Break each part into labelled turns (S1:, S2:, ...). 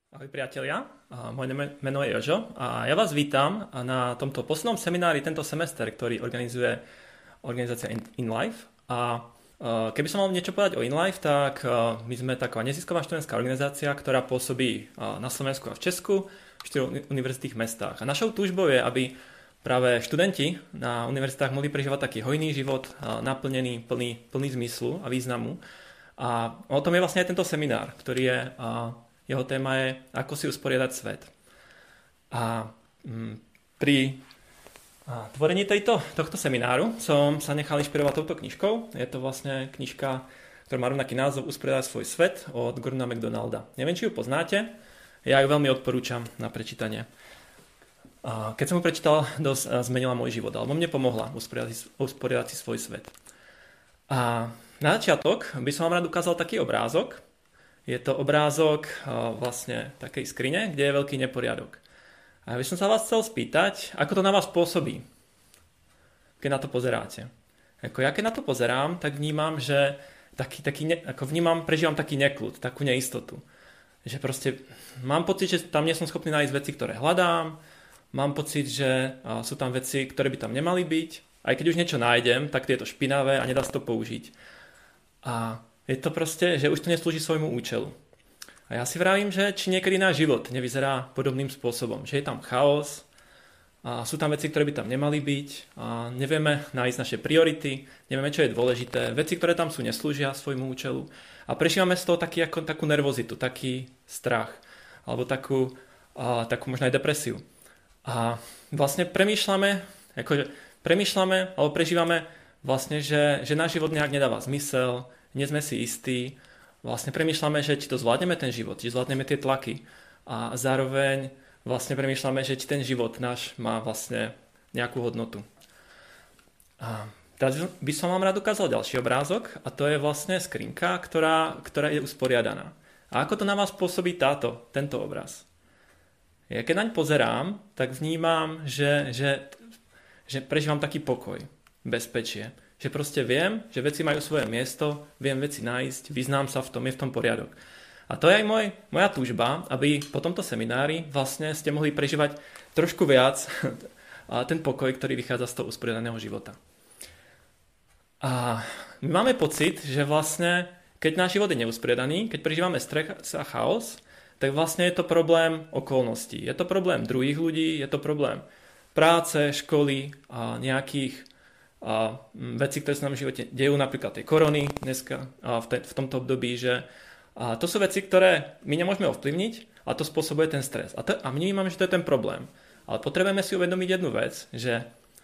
S1: Ahoj priatelia, moje meno je Jožo a ja vás vítam na tomto poslednom seminári tento semester, ktorý organizuje organizácia InLife. A keby som mal niečo povedať o InLife, tak my sme taká nezisková študentská organizácia, ktorá pôsobí na Slovensku a v Česku v 4 univerzitných mestách. A našou túžbou je, aby práve študenti na univerzitách mohli prežívať taký hojný život, naplnený, plný zmyslu a významu. A o tom je vlastne aj tento seminár, ktorý je... Jeho téma je, ako si usporiadať svet. A pri tvorení tohto semináru som sa nechal inšpirovať touto knižkou. Je to vlastne knižka, ktorá má rovnaký názov Usporiadať svoj svet od Gordona MacDonalda. Neviem, či ju poznáte, ja ju veľmi odporúčam na prečítanie. Keď som ju prečítal, dosť zmenila môj život, alebo mne pomohla usporiadať si svoj svet. A na začiatok by som vám rád ukázal taký obrázok. Je to obrázok vlastne takej skrine, kde je veľký neporiadok. A ja by som sa vás chcel spýtať, ako to na vás pôsobí, keď na to pozeráte. Ja keď na to pozerám, tak vnímam, že prežívam taký nekľud, takú neistotu. Že proste mám pocit, že tam nie som schopný nájsť veci, ktoré hľadám, mám pocit, že sú tam veci, ktoré by tam nemali byť. Aj keď už niečo nájdem, tak je to špinavé a nedá sa to použiť. A je to proste, že už to neslúži svojmu účelu. A ja si vravím, že či niekedy náš život nevyzerá podobným spôsobom. Že je tam chaos, a sú tam veci, ktoré by tam nemali byť, a nevieme nájsť naše priority, nevieme, čo je dôležité, veci, ktoré tam sú, neslúžia svojmu účelu. A prežívame z toho takú nervozitu, taký strach, alebo takú možno aj depresiu. A vlastne premýšľame, alebo prežívame vlastne, že náš život nejak nedáva zmysel, nie sme si istí, vlastne premýšľame, že či to zvládneme ten život, či zvládneme tie tlaky a zároveň vlastne premýšľame, že či ten život náš má vlastne nejakú hodnotu. A teraz by som vám rád ukázal ďalší obrázok a to je vlastne skrinka, ktorá je usporiadaná. A ako to na vás pôsobí tento obraz? Ja keď naň pozerám, tak vnímam, že prežívam taký pokoj, bezpečie. Že proste viem, že veci majú svoje miesto, viem veci nájsť, vyznám sa v tom, je v tom poriadok. A to je aj moja túžba, aby po tomto seminári vlastne ste mohli prežívať trošku viac ten pokoj, ktorý vychádza z toho usporiadaného života. A my máme pocit, že vlastne, keď náš život je neusporiadaný, keď prežívame stres a chaos, tak vlastne je to problém okolností. Je to problém druhých ľudí, je to problém práce, školy a nejakých veci, ktoré sa nám v živote dejú, napríklad tej korony dneska v tomto období, že to sú veci, ktoré my nemôžeme ovplyvniť a to spôsobuje ten stres. A my vnímame, že to je ten problém. Ale potrebujeme si uvedomiť jednu vec, že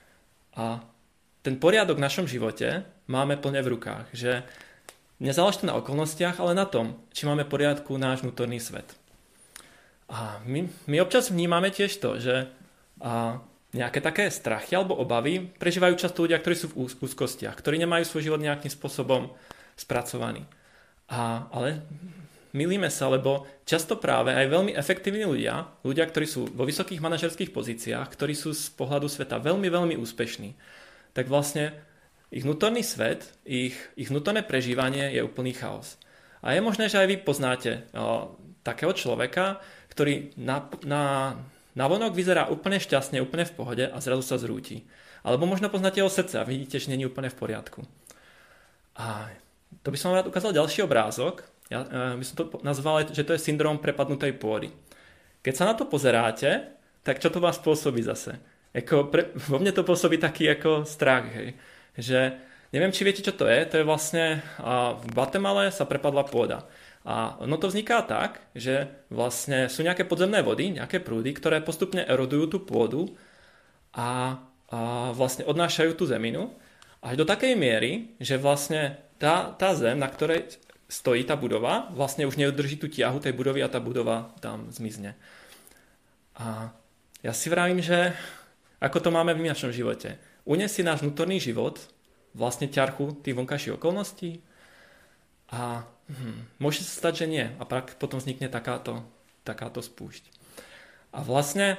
S1: ten poriadok v našom živote máme plne v rukách. Že nezáleží to na okolnostiach, ale na tom, či máme v poriadku náš vnútorný svet. A my občas vnímame tiež to, že nejaké také strachy alebo obavy prežívajú často ľudia, ktorí sú v úzkostiach, ktorí nemajú svoj život nejakým spôsobom spracovaný. Ale mýlime sa, lebo často práve aj veľmi efektívni ľudia, ktorí sú vo vysokých manažerských pozíciách, ktorí sú z pohľadu sveta veľmi, veľmi úspešní, tak vlastne ich vnútorný svet, ich vnútorné prežívanie je úplný chaos. A je možné, že aj vy poznáte takého človeka, ktorý navonok vyzerá úplne šťastne, úplne v pohode a zrazu sa zrúti. Alebo možno poznáte jeho srdce a vidíte, že nie je úplne v poriadku. A to by som vám rád ukázal ďalší obrázok. Ja by som to nazval, že to je syndrom prepadnutej pôdy. Keď sa na to pozeráte, tak čo to vás pôsobí zase? Vo mne to pôsobí taký ako strach. Hej. Že neviem, či viete, čo to je. To je vlastne v Guatemale sa prepadla pôda. A ono to vzniká tak, že vlastne sú nejaké podzemné vody, nejaké prúdy, ktoré postupne erodujú tú pôdu a vlastne odnášajú tú zeminu až do takej miery, že vlastne tá zem, na ktorej stojí tá budova, vlastne už neudrží tú tiahu tej budovy a tá budova tam zmizne. A ja si vravím, že ako to máme v našom živote. Uniesie náš vnútorný život vlastne ťarchu tých vonkajších okolností a môže sa stať, že nie. A potom vznikne takáto spúšť. A vlastne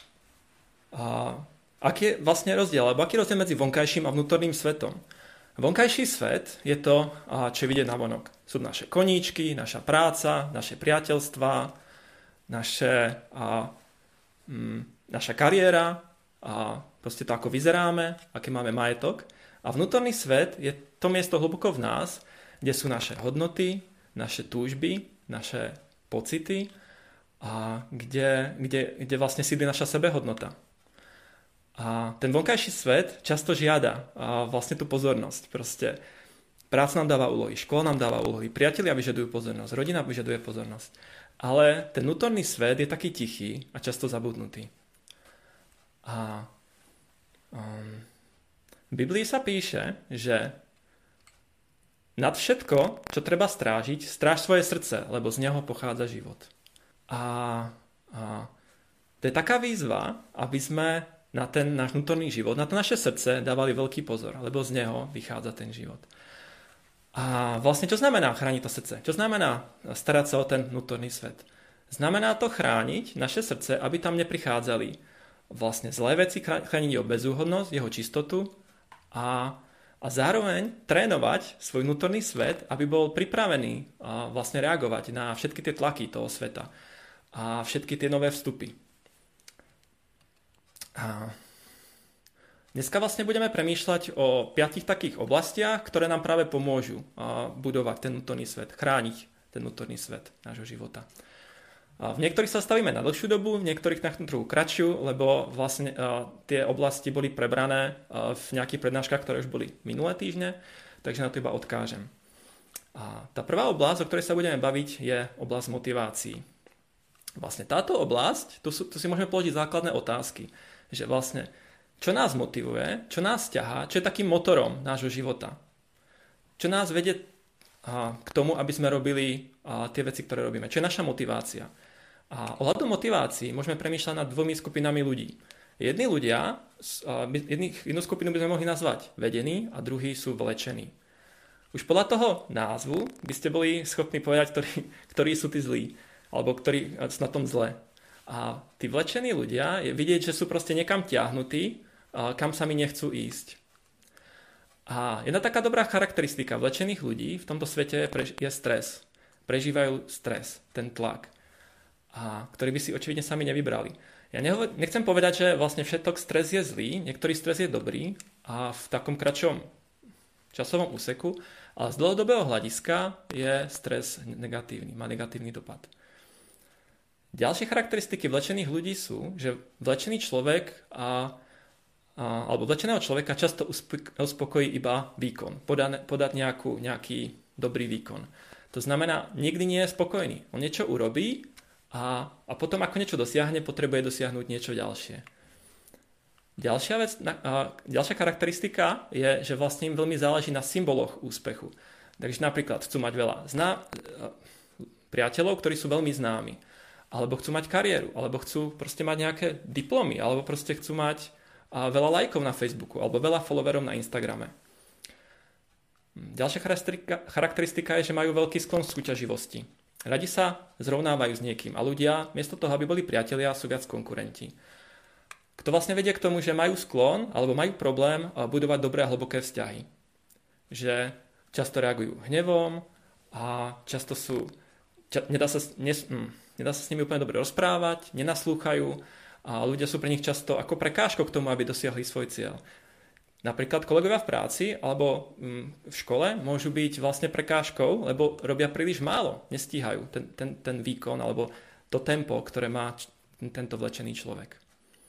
S1: aký je vlastne rozdiel? Alebo aký je rozdiel medzi vonkajším a vnútorným svetom? Vonkajší svet je to, čo je vidieť navonok. Sú naše koníčky, naša práca, naše priateľstvá, naša kariéra a proste to, ako vyzeráme, aký máme majetok. A vnútorný svet je to miesto hlboko v nás, kde sú naše hodnoty, naše túžby, naše pocity a kde vlastne sídli naša sebehodnota. A ten vonkajší svet často žiada vlastne tú pozornosť. Proste práca nám dáva úlohy, škola nám dáva úlohy, priatelia vyžadujú pozornosť, rodina vyžaduje pozornosť. Ale ten vnútorný svet je taký tichý a často zabudnutý. A v Biblii sa píše, že nad všetko, čo treba strážiť, stráž svoje srdce, lebo z neho pochádza život. A to je taká výzva, aby sme na ten náš vnútorný život, na to naše srdce dávali veľký pozor, lebo z neho vychádza ten život. A vlastne čo znamená chrániť to srdce? Čo znamená starať sa o ten vnútorný svet? Znamená to chrániť naše srdce, aby tam neprichádzali vlastne zlé veci, chrániť jeho bezúhodnosť, jeho čistotu a zároveň trénovať svoj vnútorný svet, aby bol pripravený vlastne reagovať na všetky tie tlaky toho sveta a všetky tie nové vstupy. A dneska vlastne budeme premýšľať o 5 takých oblastiach, ktoré nám práve pomôžu budovať ten vnútorný svet, chrániť ten vnútorný svet nášho života. A v niektorých sa stavíme na dlhšiu dobu, v niektorých na trochu kratšiu, lebo vlastne tie oblasti boli prebrané v nejakých prednáškach, ktoré už boli minulé týždne, takže na to iba odkážem. A tá prvá oblasť, o ktorej sa budeme baviť, je oblasť motivácií. Vlastne táto oblasť, tu si môžeme položiť základné otázky, že vlastne čo nás motivuje, čo nás ťahá, čo je takým motorom nášho života. Čo nás vedie k tomu, aby sme robili tie veci, ktoré robíme. Čo je naša motivácia. A ohľadom motivácií môžeme premýšľať nad 2 skupinami ľudí. Jedni ľudia, jednu skupinu by sme mohli nazvať vedení a druhí sú vlečení. Už podľa toho názvu by ste boli schopní povedať, ktorí sú tí zlí, alebo ktorí sú na tom zle. A tí vlečení ľudia je vidieť, že sú proste niekam ťahnutí, kam sami nechcú ísť. A jedna taká dobrá charakteristika vlečených ľudí v tomto svete je stres. Prežívajú stres, ten tlak, ktorý by si očividne sami nevybrali. Ja nechcem povedať, že vlastne všetok stres je zlý, niektorý stres je dobrý a v takom kratšom časovom úseku, ale z dlhodobého hľadiska je stres negatívny, má negatívny dopad. Ďalšie charakteristiky vlečených ľudí sú, že vlečený človek alebo vlečeného človeka často uspokojí iba výkon, podať nejaký dobrý výkon. To znamená, nikdy nie je spokojný. On niečo urobí a potom, ako niečo dosiahne, potrebuje dosiahnuť niečo ďalšie. Ďalšia charakteristika je, že vlastne im veľmi záleží na symboloch úspechu. Takže napríklad chcú mať veľa priateľov, ktorí sú veľmi známi. Alebo chcú mať kariéru, alebo chcú proste mať nejaké diplomy, alebo proste chcú mať veľa lajkov na Facebooku, alebo veľa followerov na Instagrame. Ďalšia charakteristika je, že majú veľký sklon k súťaživosti. Radi sa zrovnávajú s niekým a ľudia, miesto toho, aby boli priatelia, sú viac konkurenti. Kto vlastne vedie k tomu, že majú sklon, alebo majú problém budovať dobré a hlboké vzťahy. Že často reagujú hnevom a často nedá sa s nimi úplne dobre rozprávať, nenaslúchajú a ľudia sú pre nich často ako prekážkou k tomu, aby dosiahli svoj cieľ. Napríklad kolegovia v práci alebo v škole môžu byť vlastne prekážkou, lebo robia príliš málo, nestíhajú ten výkon alebo to tempo, ktoré má tento vlečený človek.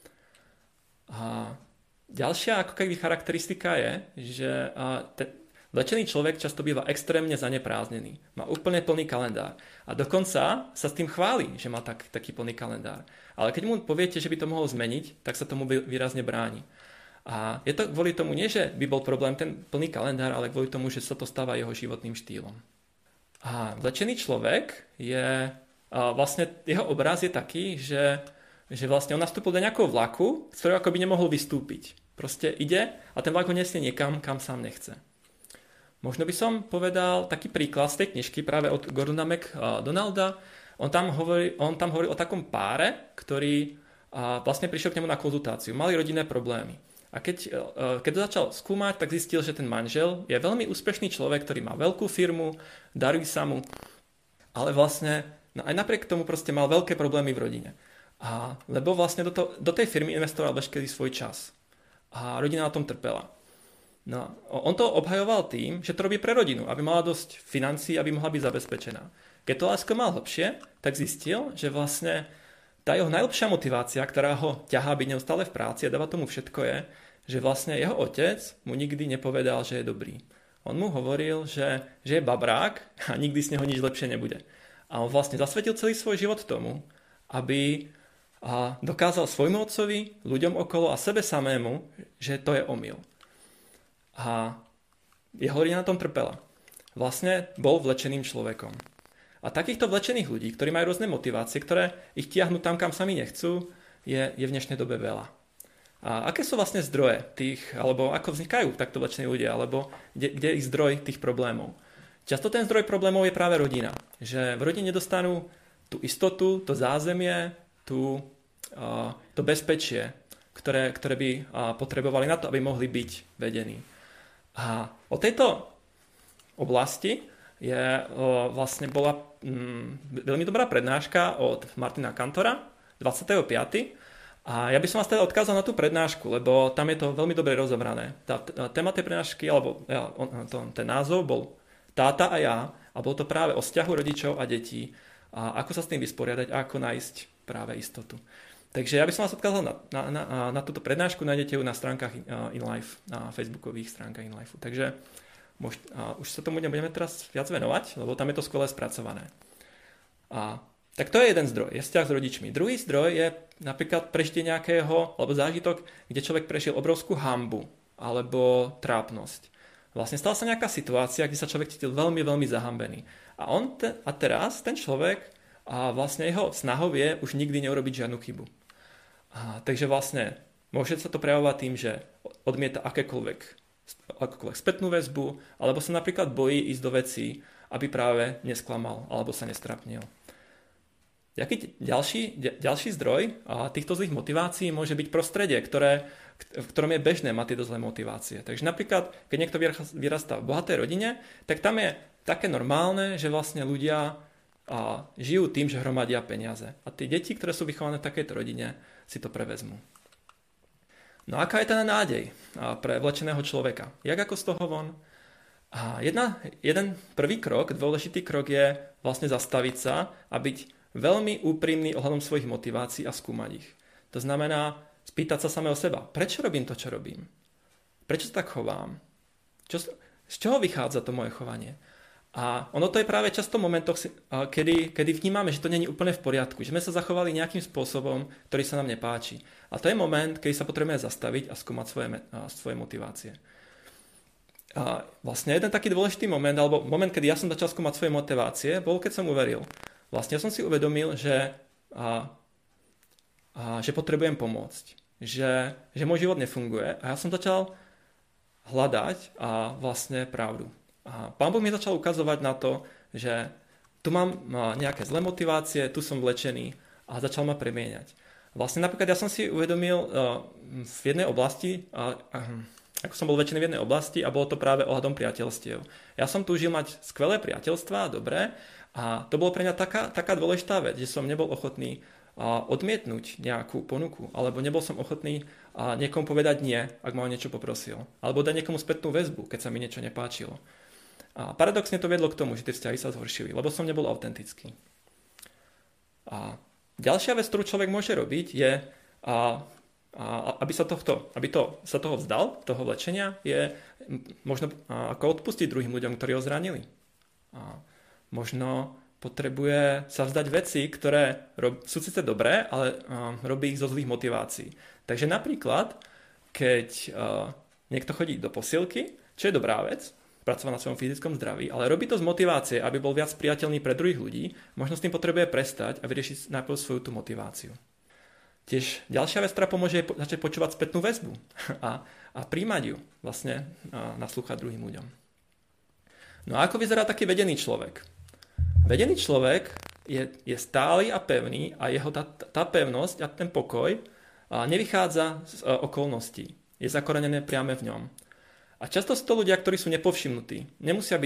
S1: A ďalšia ako keby charakteristika je, že vlečený človek často býva extrémne zanepráznený. Má úplne plný kalendár. A dokonca sa s tým chváli, že má taký plný kalendár. Ale keď mu poviete, že by to mohol zmeniť, tak sa tomu výrazne bráni. A je to kvôli tomu nie, že by bol problém ten plný kalendár, ale kvôli tomu, že sa to stáva jeho životným štýlom. A vlečený človek je vlastne jeho obraz je taký, že vlastne on nastúpil do nejakého vlaku, z ktorého akoby nemohol vystúpiť. Proste ide a ten vlak ho nesie niekam, kam sám nechce. Možno by som povedal taký príklad z tej knižky práve od Gordona McDonalda. On tam hovorí o takom páre, ktorý vlastne prišiel k nemu na konzultáciu. Mali rodinné problémy. A keď to začal skúmať, tak zistil, že ten manžel je veľmi úspešný človek, ktorý má veľkú firmu, darí sa mu, ale vlastne No aj napriek tomu proste mal veľké problémy v rodine. Lebo vlastne do tej firmy investoval veškerý svoj čas. A rodina na tom trpela. No, on to obhajoval tým, že to robí pre rodinu, aby mala dosť financií, aby mohla byť zabezpečená. Keď to lásko mal hlbšie, tak zistil, že vlastne tá jeho najlepšia motivácia, ktorá ho ťahá byť neustále v práci a dáva tomu všetko je, že vlastne jeho otec mu nikdy nepovedal, že je dobrý. On mu hovoril, že je babrák a nikdy z neho nič lepšie nebude. A on vlastne zasvetil celý svoj život tomu, aby dokázal svojmu otcovi, ľuďom okolo a sebe samému, že to je omyl. A jeho rodina na tom trpela. Vlastne bol vlečeným človekom. A takýchto vlečených ľudí, ktorí majú rôzne motivácie, ktoré ich tiahnu tam, kam sami nechcú, je v dnešnej dobe veľa. A aké sú vlastne zdroje tých, alebo ako vznikajú takto vlečení ľudia, alebo kde je ich zdroj tých problémov? Často ten zdroj problémov je práve rodina. Že v rodine nedostanú tú istotu, to zázemie, to bezpečie, ktoré by potrebovali na to, aby mohli byť vedení. A o tejto oblasti bola veľmi dobrá prednáška od Martina Kantora 25. A ja by som vás teda odkázal na tú prednášku, lebo tam je to veľmi dobre rozobrané. Téma tej prednášky, alebo ten názov bol Táta a ja, a bolo to práve o vzťahu rodičov a detí, a ako sa s tým vysporiadať a ako nájsť práve istotu. Takže ja by som vás odkázal na túto prednášku, nájdete ju na stránkach InLife, na facebookových stránkach InLife. Takže už sa tomu nebudeme teraz viac venovať, lebo tam je to skvelé spracované. Tak to je jeden zdroj, je vzťah s rodičmi. Druhý zdroj je napríklad prežitie nejakého, alebo zážitok, kde človek prežil obrovskú hanbu alebo trápnosť. Vlastne stala sa nejaká situácia, kde sa človek cítil veľmi, veľmi zahambený. A teraz ten človek, vlastne jeho snahou je už nikdy neurobiť žiadnu chybu. Takže vlastne môže sa to prejavovať tým, že odmieta akokoľvek spätnú väzbu, alebo sa napríklad bojí ísť do vecí, aby práve nesklamal alebo sa nestrapnil. Jaký ďalší zdroj týchto zlých motivácií môže byť prostredie, v ktorom je bežné mať tieto zlé motivácie. Takže napríklad, keď niekto vyrastá v bohatej rodine, tak tam je také normálne, že vlastne ľudia žijú tým, že hromadia peniaze. A tie deti, ktoré sú vychované v takejto rodine, si to prevezmú. No aká je teda nádej pre vlečeného človeka? Jak ako z toho von? Jeden prvý krok, dôležitý krok je vlastne zastaviť sa a byť veľmi úprimný ohľadom svojich motivácií a skúmať ich. To znamená spýtať sa samého seba, prečo robím to, čo robím? Prečo sa tak chovám? Z čoho vychádza to moje chovanie? A ono to je práve často v momentoch, kedy vnímame, že to nie je úplne v poriadku, že sme sa zachovali nejakým spôsobom, ktorý sa nám nepáči. A to je moment, kedy sa potrebujeme zastaviť a skúmať svoje motivácie. A vlastne jeden taký dôležitý moment, alebo moment, kedy ja som začal skúmať svoje motivácie, bol, keď som uveril. Vlastne ja som si uvedomil, že potrebujem pomôcť. Že môj život nefunguje. A ja som začal hľadať vlastne pravdu. A Pán Boh mi začal ukazovať na to, že tu mám nejaké zlé motivácie, tu som vlečený a začal ma premieňať. Vlastne napríklad ja som si uvedomil v jednej oblasti, ako som bol vlečený v jednej oblasti a bolo to práve ohľadom priateľstiev. Ja som túžil mať skvelé priateľstvá, dobré, a to bolo pre mňa taká dôležitá vec, že som nebol ochotný odmietnúť nejakú ponuku, alebo nebol som ochotný niekomu povedať nie, ak ma o niečo poprosil, alebo dať niekomu spätnú väzbu, keď sa mi niečo nepáčilo. A paradoxne to viedlo k tomu, že tie vzťahy sa zhoršili, lebo som nebol autentický. A ďalšia vec, ktorú človek môže robiť, je, aby sa toho vzdal, toho vlečenia, je možno ako odpustiť druhým ľuďom, ktorí ho zranili. Možno potrebuje sa vzdať veci, ktoré sú síce dobré, ale robí ich zo zlých motivácií. Takže napríklad, keď niekto chodí do posilky, čo je dobrá vec, pracovať na svojom fyzickom zdraví, ale robí to z motivácie, aby bol viac priateľný pre druhých ľudí, možno s tým potrebuje prestať a vyriešiť najprv svoju tú motiváciu. Tiež ďalšia vec, ktorá pomôže, je začať počúvať spätnú väzbu a príjmať ju, vlastne naslúchať druhým ľuďom. No a ako vyzerá taký vedený človek? Vedený človek je stály a pevný a jeho tá pevnosť a ten pokoj nevychádza z okolností. Je zakorenené priame v ňom. A často sú to ľudia, ktorí sú nepovšimnutí. Nemusia byť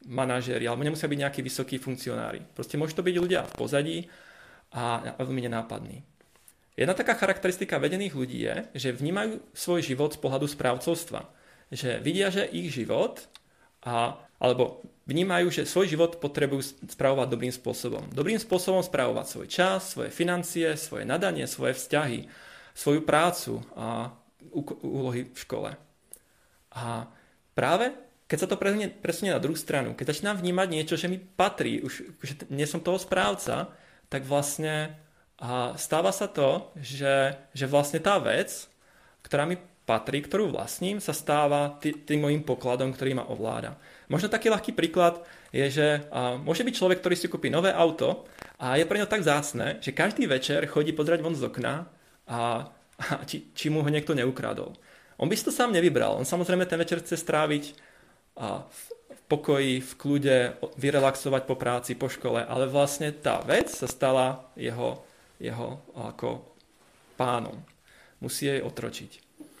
S1: manažéri, alebo nemusia byť nejakí vysokí funkcionári. Proste môžu to byť ľudia v pozadí a veľmi nenápadní. Jedna taká charakteristika vedených ľudí je, že vnímajú svoj život z pohľadu správcovstva. Že vidia, že ich život alebo vnímajú, že svoj život potrebujú spravovať dobrým spôsobom. Dobrým spôsobom spravovať svoj čas, svoje financie, svoje nadanie, svoje vzťahy, svoju prácu a úlohy v škole. A práve keď sa to presunie na druhú stranu, keď začínam vnímať niečo, že mi patrí, už že nie som toho správca, tak vlastne stáva sa to, že vlastne tá vec, ktorá mi patrí, ktorú vlastním, sa stáva tým mojím pokladom, ktorý ma ovláda. Možno taký ľahký príklad je, že môže byť človek, ktorý si kúpi nové auto a je pre ňo tak vzácne, že každý večer chodí pozerať von z okna a či mu ho niekto neukradol. On by si to sám nevybral. On samozrejme ten večer chce stráviť v pokoji, v kľude, vyrelaxovať po práci, po škole, ale vlastne tá vec sa stala jeho ako pánom. Musí jej otročiť.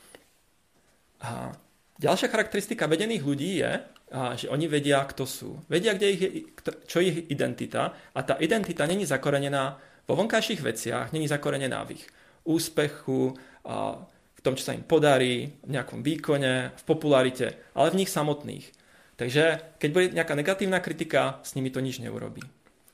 S1: A ďalšia charakteristika vedených ľudí je, že oni vedia, kto sú. Vedia, čo je ich identita a tá identita není zakorenená vo vonkajších veciach, není zakorenená v ich úspechu, v tom, čo sa im podarí, v nejakom výkone, v popularite, ale v nich samotných. Takže keď bude nejaká negatívna kritika, s nimi to nič neurobí.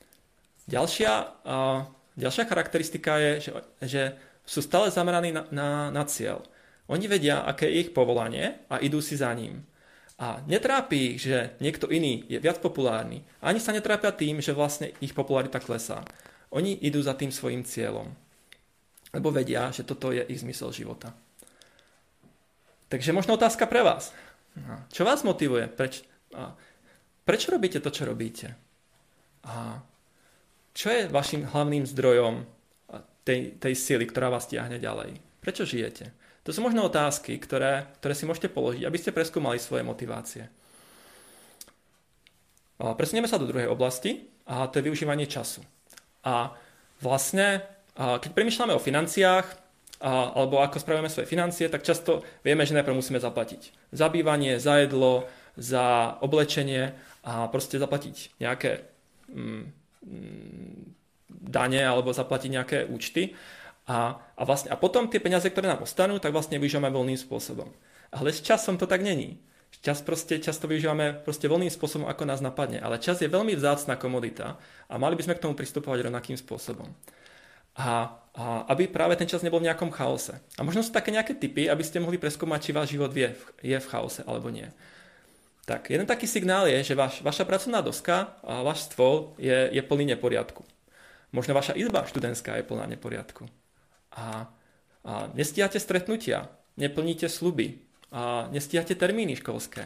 S1: Ďalšia charakteristika je, že sú stále zameraní na cieľ. Oni vedia, aké je ich povolanie a idú si za ním. A netrápi ich, že niekto iný je viac populárny. Ani sa netrápia tým, že vlastne ich popularita klesá. Oni idú za tým svojím cieľom. Lebo vedia, že toto je ich zmysel života. Takže možno otázka pre vás. Čo vás motivuje? Prečo robíte to, čo robíte? A čo je vašim hlavným zdrojom tej sily, ktorá vás tiahne ďalej? Prečo žijete? To sú možno otázky, ktoré si môžete položiť, aby ste preskúmali svoje motivácie. Presunieme sa do druhej oblasti, a to je využívanie času. A vlastne, keď premýšľame o financiách, alebo ako spravujeme svoje financie, tak často vieme, že najprv musíme zaplatiť za bývanie, za jedlo, za oblečenie a proste zaplatiť nejaké dane alebo zaplatiť nejaké účty. A potom tie peniaze, ktoré nám ostanú, tak vlastne využívame voľným spôsobom. Ale s časom to tak není. Čas to využívame voľným spôsobom, ako nás napadne. Ale čas je veľmi vzácna komodita a mali by sme k tomu pristupovať rovnakým spôsobom. A aby práve ten čas nebol v nejakom chaose. A možno sú také nejaké tipy, aby ste mohli preskúmať, či váš život je v chaose alebo nie. Tak, jeden taký signál je, že vaša pracovná doska a váš stôl je plný neporiadku. Možno vaša izba študentská je plná neporiadku. A nestíhate stretnutia, neplníte sľuby, a nestíhate termíny školské.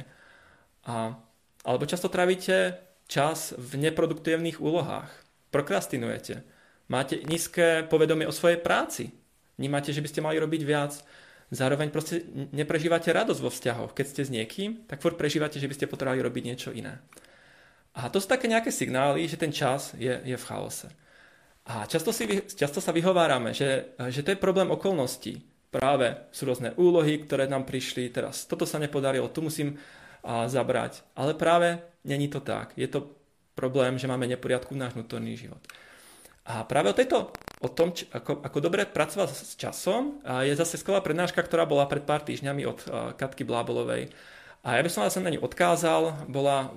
S1: Alebo často trávite čas v neproduktívnych úlohách. Prokrastinujete. Máte nízke povedomie o svojej práci. Vnímate, že by ste mali robiť viac. Zároveň proste neprežívate radosť vo vzťahoch. Keď ste s niekým, tak furt prežívate, že by ste potrebovali robiť niečo iné. A to sú také nejaké signály, že ten čas je v chaose. A často sa vyhovárame, že to je problém okolností. Práve sú rôzne úlohy, ktoré nám prišli, teraz toto sa nepodarilo, tu musím zabrať. Ale práve není to tak. Je to problém, že máme neporiadku v náš vnútorný život. A práve o tom, ako dobre pracovať s časom, je zase skvelá prednáška, ktorá bola pred pár týždňami od Katky Blábolovej. A ja by som vás na ňu odkázal, bola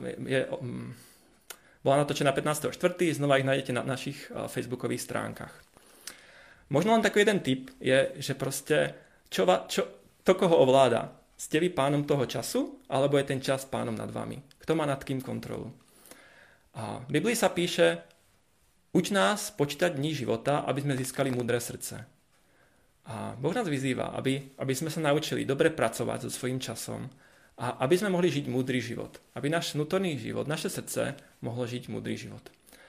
S1: natočená 15.4., znova ich nájdete na našich facebookových stránkach. Možno len taký jeden tip je, že proste, koho ovláda? Ste vy pánom toho času, alebo je ten čas pánom nad vami? Kto má nad kým kontrolu? A v Biblii sa píše: uč nás počítať dní života, aby sme získali múdre srdce. A Boh nás vyzýva, aby sme sa naučili dobre pracovať so svojím časom a aby sme mohli žiť múdry život. Aby náš vnútorný život, naše srdce mohlo žiť múdry život.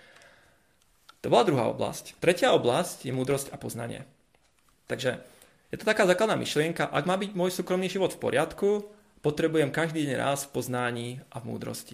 S1: To bola druhá oblasť. Tretia oblasť je múdrosť a poznanie. Takže je to taká základná myšlienka, ak má byť môj súkromný život v poriadku, potrebujem každý deň raz v poznaní a v múdrosti.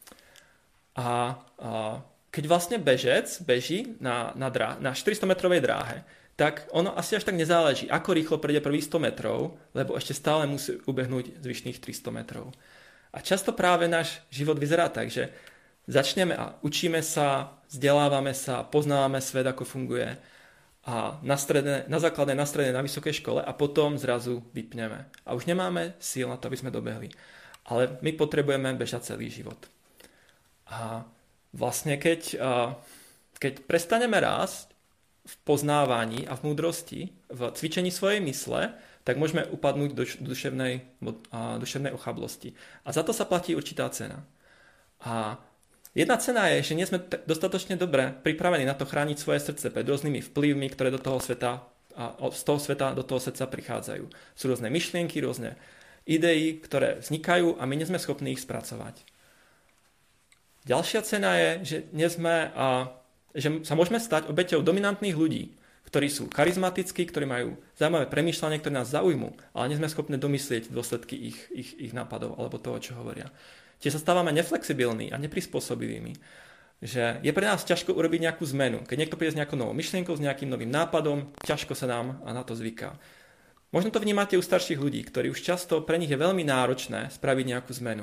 S1: A keď vlastne bežec beží na 400-metrovej dráhe, tak ono asi až tak nezáleží, ako rýchlo prejde prvých 100 metrov, lebo ešte stále musí ubehnúť zvyšných 300 metrov. A často práve náš život vyzerá tak, že začneme a učíme sa, vzdelávame sa, poznávame svet, ako funguje a na základnej, na strednej, na vysokej škole a potom zrazu vypneme. A už nemáme síl na to, aby sme dobehli. Ale my potrebujeme bežať celý život. A vlastne keď prestaneme rásť v poznávaní a v múdrosti, v cvičení svojej mysle, tak môžeme upadnúť do duševnej ochablosti. A za to sa platí určitá cena. A jedna cena je, že nie sme dostatočne dobre pripravení na to chrániť svoje srdce pred rôznymi vplyvmi, ktoré z toho sveta do toho srdca prichádzajú. Sú rôzne myšlienky, rôzne idei, ktoré vznikajú a my nie sme schopní ich spracovať. Ďalšia cena je, že sa môžeme stať obeťou dominantných ľudí, ktorí sú charizmatickí, ktorí majú zaujímavé premýšľanie, ktoré nás zaujmú, ale nie sme schopní domyslieť dôsledky ich nápadov alebo toho, čo hovoria. Čiže sa stávame neflexibilní a neprispôsobivými. Že je pre nás ťažko urobiť nejakú zmenu. Keď niekto príde s nejakou novou myšlienkou, s nejakým novým nápadom, ťažko sa nám na to zvyká. Možno to vnímate u starších ľudí, ktorí už často pre nich je veľmi náročné spraviť nejakú zmenu.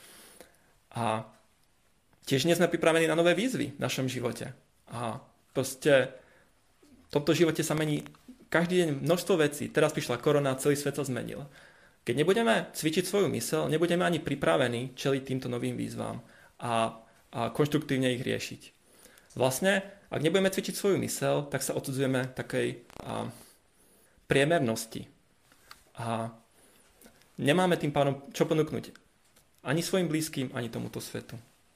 S1: A tiež nie sme pripravení na nové výzvy v našom živote. A proste v tomto živote sa mení každý deň množstvo vecí. Teraz prišla korona, celý svet sa zmenil. Keď nebudeme cvičiť svoju myseľ, nebudeme ani pripravení čeliť týmto novým výzvam a konštruktívne ich riešiť. Vlastne, ak nebudeme cvičiť svoju myseľ, tak sa odsudzujeme takej priemernosti. A nemáme tým pádom čo ponúknuť ani svojim blízkym, ani tomuto svetu.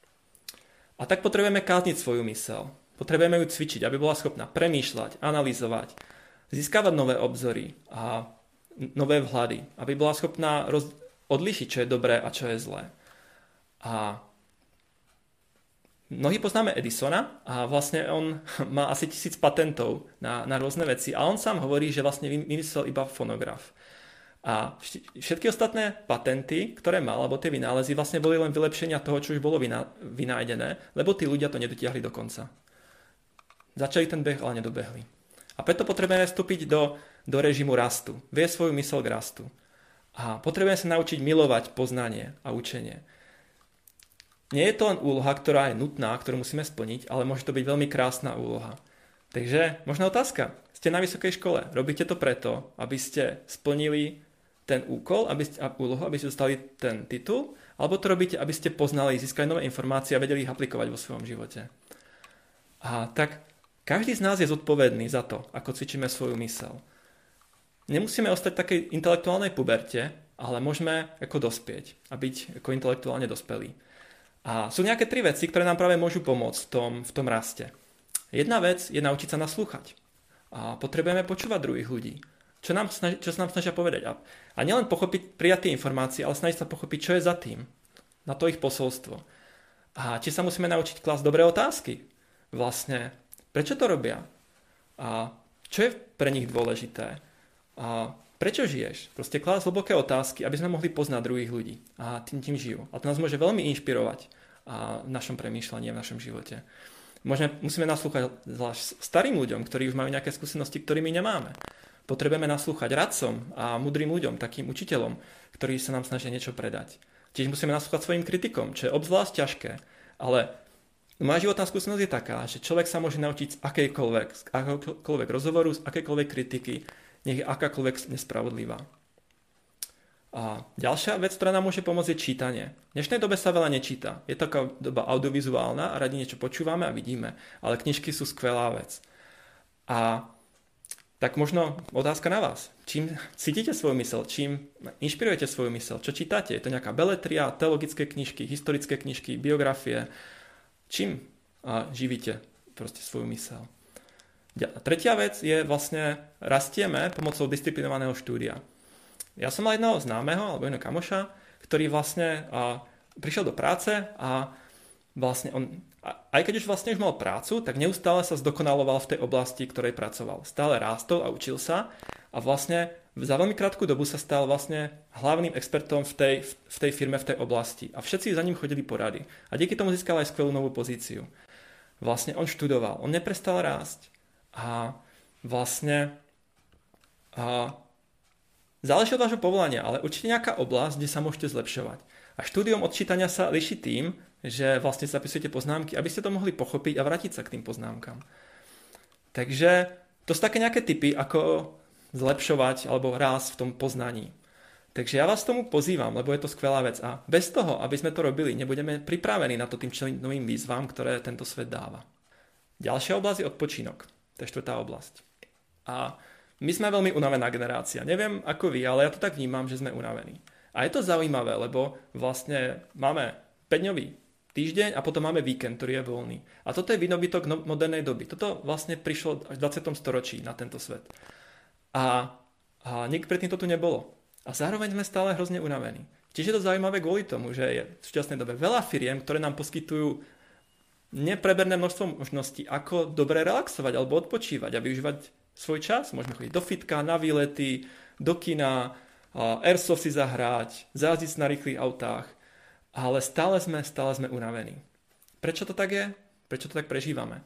S1: A tak potrebujeme kázniť svoju myseľ. Potrebujeme ju cvičiť, aby bola schopná premýšľať, analyzovať, získavať nové obzory a nové vhľady, aby bola schopná odlíšiť, čo je dobré a čo je zlé. A mnohí poznáme Edisona a vlastne on má asi 1000 patentov na rôzne veci a on sám hovorí, že vlastne vymyslel iba fonograf. A všetky ostatné patenty, ktoré mal, alebo tie vynálezy, vlastne boli len vylepšenia toho, čo už bolo vynájdené, lebo tí ľudia to nedotiahli do konca. Začali ten beh, ale nedobehli. A preto potrebujeme vstúpiť do režimu rastu. Viesť svoju myseľ k rastu. A potrebujeme sa naučiť milovať poznanie a učenie. Nie je to len úloha, ktorá je nutná, ktorú musíme splniť, ale môže to byť veľmi krásna úloha. Takže možná otázka. Ste na vysokej škole. Robíte to preto, aby ste splnili ten úkol, úlohu, aby ste dostali ten titul, alebo to robíte, aby ste poznali, získali nové informácie a vedeli ich aplikovať vo svojom živote. A tak každý z nás je zodpovedný za to, ako cvičíme svoju myseľ. Nemusíme ostať v takej intelektuálnej puberte, ale môžeme ako dospieť a byť ako intelektuálne dospelí. A sú nejaké 3 veci, ktoré nám práve môžu pomôcť v tom raste. Jedna vec je naučiť sa naslúchať. A potrebujeme počúvať druhých ľudí. Čo sa nám snažia povedať. A nielen prijať tie informácie, ale snažiť sa pochopiť, čo je za tým. Na to ich posolstvo. A či sa musíme naučiť klásť dobré otázky. Vlastne, prečo to robia? A čo je pre nich dôležité? A prečo žiješ? Proste klásť hlboké otázky, aby sme mohli poznať druhých ľudí. A tým žijú. A to nás môže veľmi inšpirovať v našom premýšľaní a v našom živote. Musíme naslúchať zvlášť starým ľuďom, ktorí už majú nejaké skúsenosti, ktoré my nemáme. Potrebujeme naslúchať radcom a múdrym ľuďom, takým učiteľom, ktorí sa nám snažia niečo predať. Tiež musíme naslúchať svojim kritikom, čo je obzvlášť ťažké. Ale moja životná skúsenosť je taká, že človek sa môže naučiť z akékoľvek rozhovoru, z akékoľvek kritiky, nech je akákoľvek nespravodlivá. A ďalšia vec, ktorá nám môže pomôcť, je čítanie. V dnešnej dobe sa veľa nečíta. Je taká doba audiovizuálna a radi niečo počúvame a vidíme. Ale knižky sú skvelá vec. A tak možno otázka na vás. Čím cítite svoju myseľ? Čím inšpirujete svoju myseľ? Čo čítate? Je to nejaká beletria, teologické knižky, historické knižky, biografie? Čím živíte proste svoju myseľ? Tretia vec je vlastne rastieme pomocou disciplinovaného štúdia. Ja som mal jedného známeho, alebo jedného kamoša, ktorý vlastne prišiel do práce a vlastne on, aj keď už vlastne už mal prácu, tak neustále sa zdokonaloval v tej oblasti, ktorej pracoval. Stále rástol a učil sa a vlastne za veľmi krátku dobu sa stal vlastne hlavným expertom v tej firme, v tej oblasti. A všetci za ním chodili porady. A díky tomu získal aj skvelú novú pozíciu. Vlastne on študoval, on neprestal rásť. A vlastne záleží od vášho povolania, ale určite nejaká oblasť, kde sa môžete zlepšovať. A štúdium odčítania sa líši tým, že vlastne zapisujete poznámky, aby ste to mohli pochopiť a vrátiť sa k tým poznámkam. Takže to sú také nejaké tipy, ako zlepšovať alebo rásť v tom poznaní. Takže ja vás tomu pozývam, lebo je to skvelá vec. A bez toho, aby sme to robili, nebudeme pripravení na to tým čeliť novým výzvam, ktoré tento svet dáva. Ďalšia oblasť je odpočinok. To je štvrtá oblasť. A my sme veľmi unavená generácia. Neviem ako vy, ale ja to tak vnímam, že sme unavení. A je to zaujímavé, lebo vlastne máme 5-dňový týždeň a potom máme víkend, ktorý je voľný. A toto je výdobytok modernej doby. Toto vlastne prišlo až v 20. storočí na tento svet. A nikdy predtým to tu nebolo. A zároveň sme stále hrozne unavení. Čiže je to zaujímavé kvôli tomu, že je v súčasnej dobe veľa firiem, ktoré nám poskytujú nepreberné množstvo možností, ako dobre relaxovať alebo odpočívať a využívať svoj čas. Môžeme chodiť do fitka, na výlety, do kina, airsoft si zahrať, zajazdiť na rýchlych autách, ale stále sme unavení. Prečo to tak je? Prečo to tak prežívame?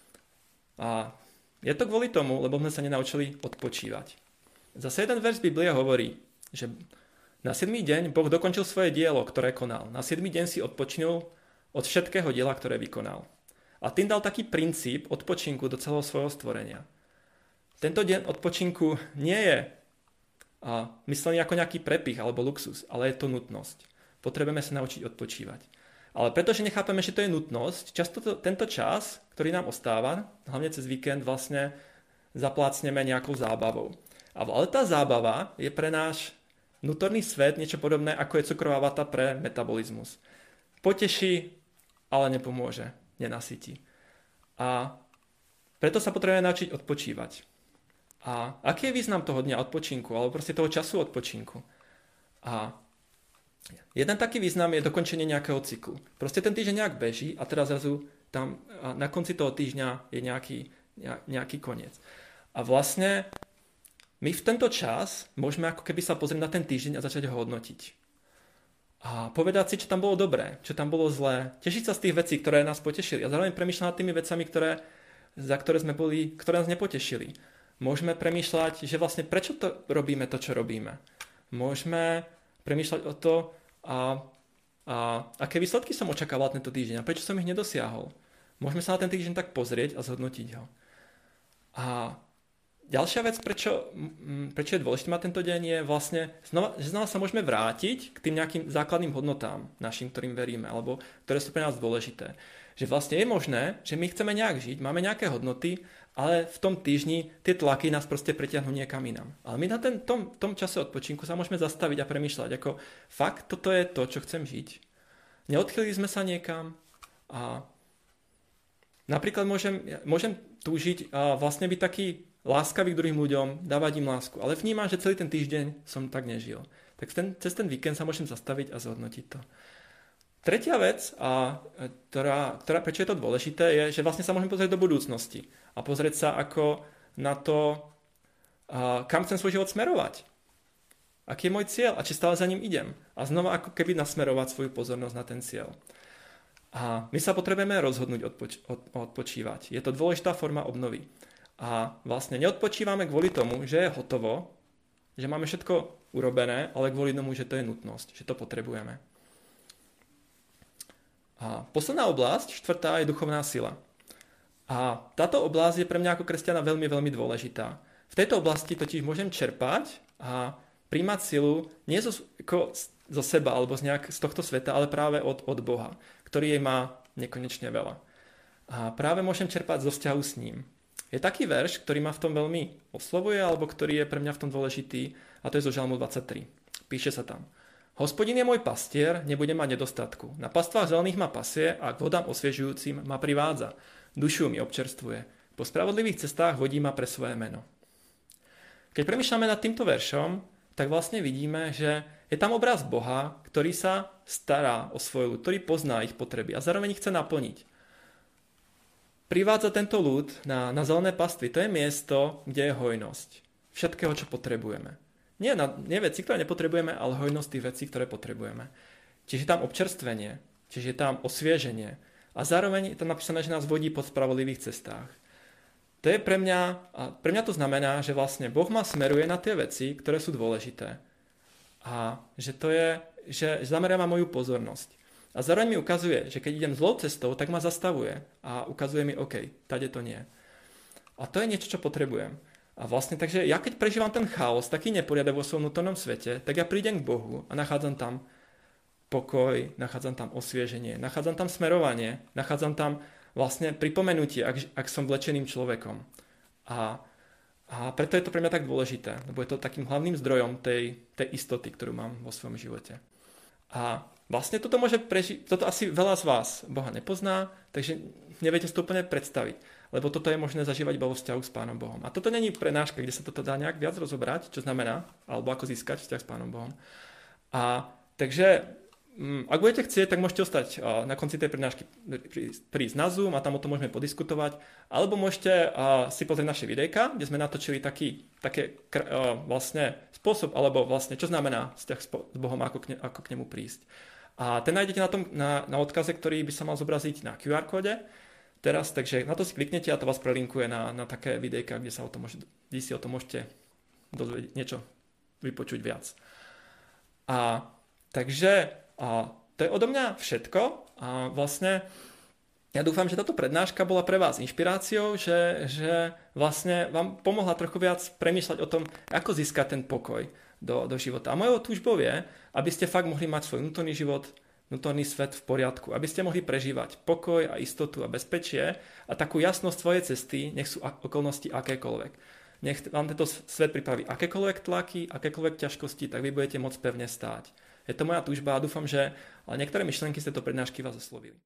S1: A je to kvôli tomu, lebo sme sa nenaučili odpočívať. Zase jeden verš Biblie hovorí, že na 7. deň Boh dokončil svoje dielo, ktoré konal. Na 7. deň si odpočinul od všetkého diela, ktoré vykonal. A tým dal taký princíp odpočinku do celého svojho stvorenia. Tento deň odpočinku nie je myslený ako nejaký prepich alebo luxus, ale je to nutnosť. Potrebujeme sa naučiť odpočívať. Ale pretože nechápeme, že to je nutnosť, často tento čas, ktorý nám ostáva, hlavne cez víkend, vlastne zaplácneme nejakou zábavou. Ale tá zábava je pre náš vnútorný svet niečo podobné, ako je cukrová vata pre metabolizmus. Poteší, ale nepomôže, nenasytí. A preto sa potrebujeme naučiť odpočívať. A aký je význam toho dňa odpočinku, alebo proste toho času odpočinku? A jeden taký význam je dokončenie nejakého cyklu. Proste ten týždeň nejak beží a teraz zrazu tam na konci toho týždňa je nejaký koniec. A vlastne my v tento čas môžeme ako keby sa pozrieť na ten týždeň a začať ho hodnotiť. A povedať si, čo tam bolo dobré, čo tam bolo zlé. Tešiť sa z tých vecí, ktoré nás potešili. A zároveň premýšľať nad tými vecami, ktoré nás nepotešili. Môžeme premýšľať, že vlastne prečo to robíme to, čo robíme. Môžeme premýšľať o to, aké výsledky som očakával tento týždeň a prečo som ich nedosiahol. Môžeme sa na ten týždeň tak pozrieť a zhodnotiť ho. A ďalšia vec, prečo je dôležité mať tento deň, je vlastne, že znova sa môžeme vrátiť k tým nejakým základným hodnotám našim, ktorým veríme, alebo ktoré sú pre nás dôležité. Že vlastne je možné, že my chceme nejak žiť, máme nejaké hodnoty, ale v tom týždni tie tlaky nás proste pretiahnú niekam inám. Ale my na tom čase odpočinku sa môžeme zastaviť a premýšľať, ako fakt toto je to, čo chcem žiť. Neodchýlili sme sa niekam a napríklad môžem túžiť a vlastne byť taký láskavý k druhým ľuďom, dávať im lásku. Ale vnímam, že celý ten týždeň som tak nežil. Tak cez ten víkend sa môžem zastaviť a zhodnotiť to. Tretia vec, ktorá prečo je to dôležité, je, že vlastne sa môžem pozrieť do budúcnosti. A pozrieť sa ako na to, kam chcem svoj život smerovať. Aký je môj cieľ a či stále za ním idem. A znova ako keby nasmerovať svoju pozornosť na ten cieľ. A my sa potrebujeme rozhodnúť odpočívať. Je to dôležitá forma obnovy. A vlastne neodpočívame kvôli tomu, že je hotovo, že máme všetko urobené, ale kvôli tomu, že to je nutnosť, že to potrebujeme. A posledná oblasť, štvrtá, je duchovná sila. A táto oblasť je pre mňa ako kresťana veľmi, veľmi dôležitá. V tejto oblasti totiž môžem čerpať a príjmať silu nie zo seba alebo z tohto sveta, ale práve od Boha, ktorý jej má nekonečne veľa. A práve môžem čerpať zo vzťahu s ním. Je taký verš, ktorý ma v tom veľmi oslovuje, alebo ktorý je pre mňa v tom dôležitý, a to je zo Žalmu 23. Píše sa tam: Hospodin je môj pastier, nebudem mať nedostatku. Na pastvách zelených ma pasie a k vodám osviežujúcim ma privádza. Dušu mi občerstvuje. Po spravodlivých cestách vodí ma pre svoje meno. Keď premýšľame nad týmto veršom, tak vlastne vidíme, že je tam obraz Boha, ktorý sa stará o svoju ľud, ktorý pozná ich potreby a zároveň ich chce naplniť. Privádza tento ľud na zelené pastvy. To je miesto, kde je hojnosť všetkého, čo potrebujeme. Nie veci, ktoré nepotrebujeme, ale hojnosť tých vecí, ktoré potrebujeme. Čiže je tam občerstvenie, čiže je tam osvieženie. A zároveň je tam napísané, že nás vodí po spravodlivých cestách. To je pre mňa to znamená, že vlastne Boh ma smeruje na tie veci, ktoré sú dôležité. A že to je že zameriava moju pozornosť. A zároveň mi ukazuje, že keď idem zlou cestou, tak ma zastavuje a ukazuje mi, OK, tady to nie. A to je niečo, čo potrebujem. A vlastne, takže ja keď prežívam ten chaos, taký neporiadok vo svojom vnútornom svete, tak ja prídem k Bohu a nachádzam tam pokoj, nachádzam tam osvieženie, nachádzam tam smerovanie, nachádzam tam vlastne pripomenutie, ak som vlečeným človekom. A preto je to pre mňa tak dôležité, lebo je to takým hlavným zdrojom tej istoty, ktorú mám vo svojom živote. A vlastne toto môže prežiť, toto asi veľa z vás Boha nepozná, takže neviete si to úplne predstaviť, lebo toto je možné zažívať iba vo vzťahu s Pánom Bohom. A toto není prednáška, kde sa toto dá nejak viac rozobrať, čo znamená, alebo ako získať vzťah s Pánom Bohom. A takže ak budete chcieť, tak môžete ostať na konci tej prednášky prísť na Zoom a tam o tom môžeme podiskutovať. Alebo môžete si pozrieť naše videjka, kde sme natočili taký vlastne spôsob, alebo vlastne čo znamená vzťah s Bohom, ako k nemu prísť. A ten nájdete na odkaze, ktorý by sa mal zobraziť na QR kóde teraz, takže na to si kliknete a to vás prelinkuje na také videjka, kde si o tom môžete dozvedieť niečo, vypočuť viac. Takže to je odo mňa všetko a vlastne ja dúfam, že táto prednáška bola pre vás inšpiráciou, že vlastne vám pomohla trochu viac premýšľať o tom, ako získať ten pokoj do života. A mojou túžbou je, aby ste fakt mohli mať svoj vnútorný život, vnútorný svet v poriadku, aby ste mohli prežívať pokoj a istotu a bezpečie a takú jasnosť svojej cesty, nech sú okolnosti akékoľvek. Nech vám tento svet pripraví akékoľvek tlaky, akékoľvek ťažkosti, tak vy budete môcť pevne stáť. Je to moja túžba a dúfam, že niektoré myšlienky z tejto prednášky vás oslovili.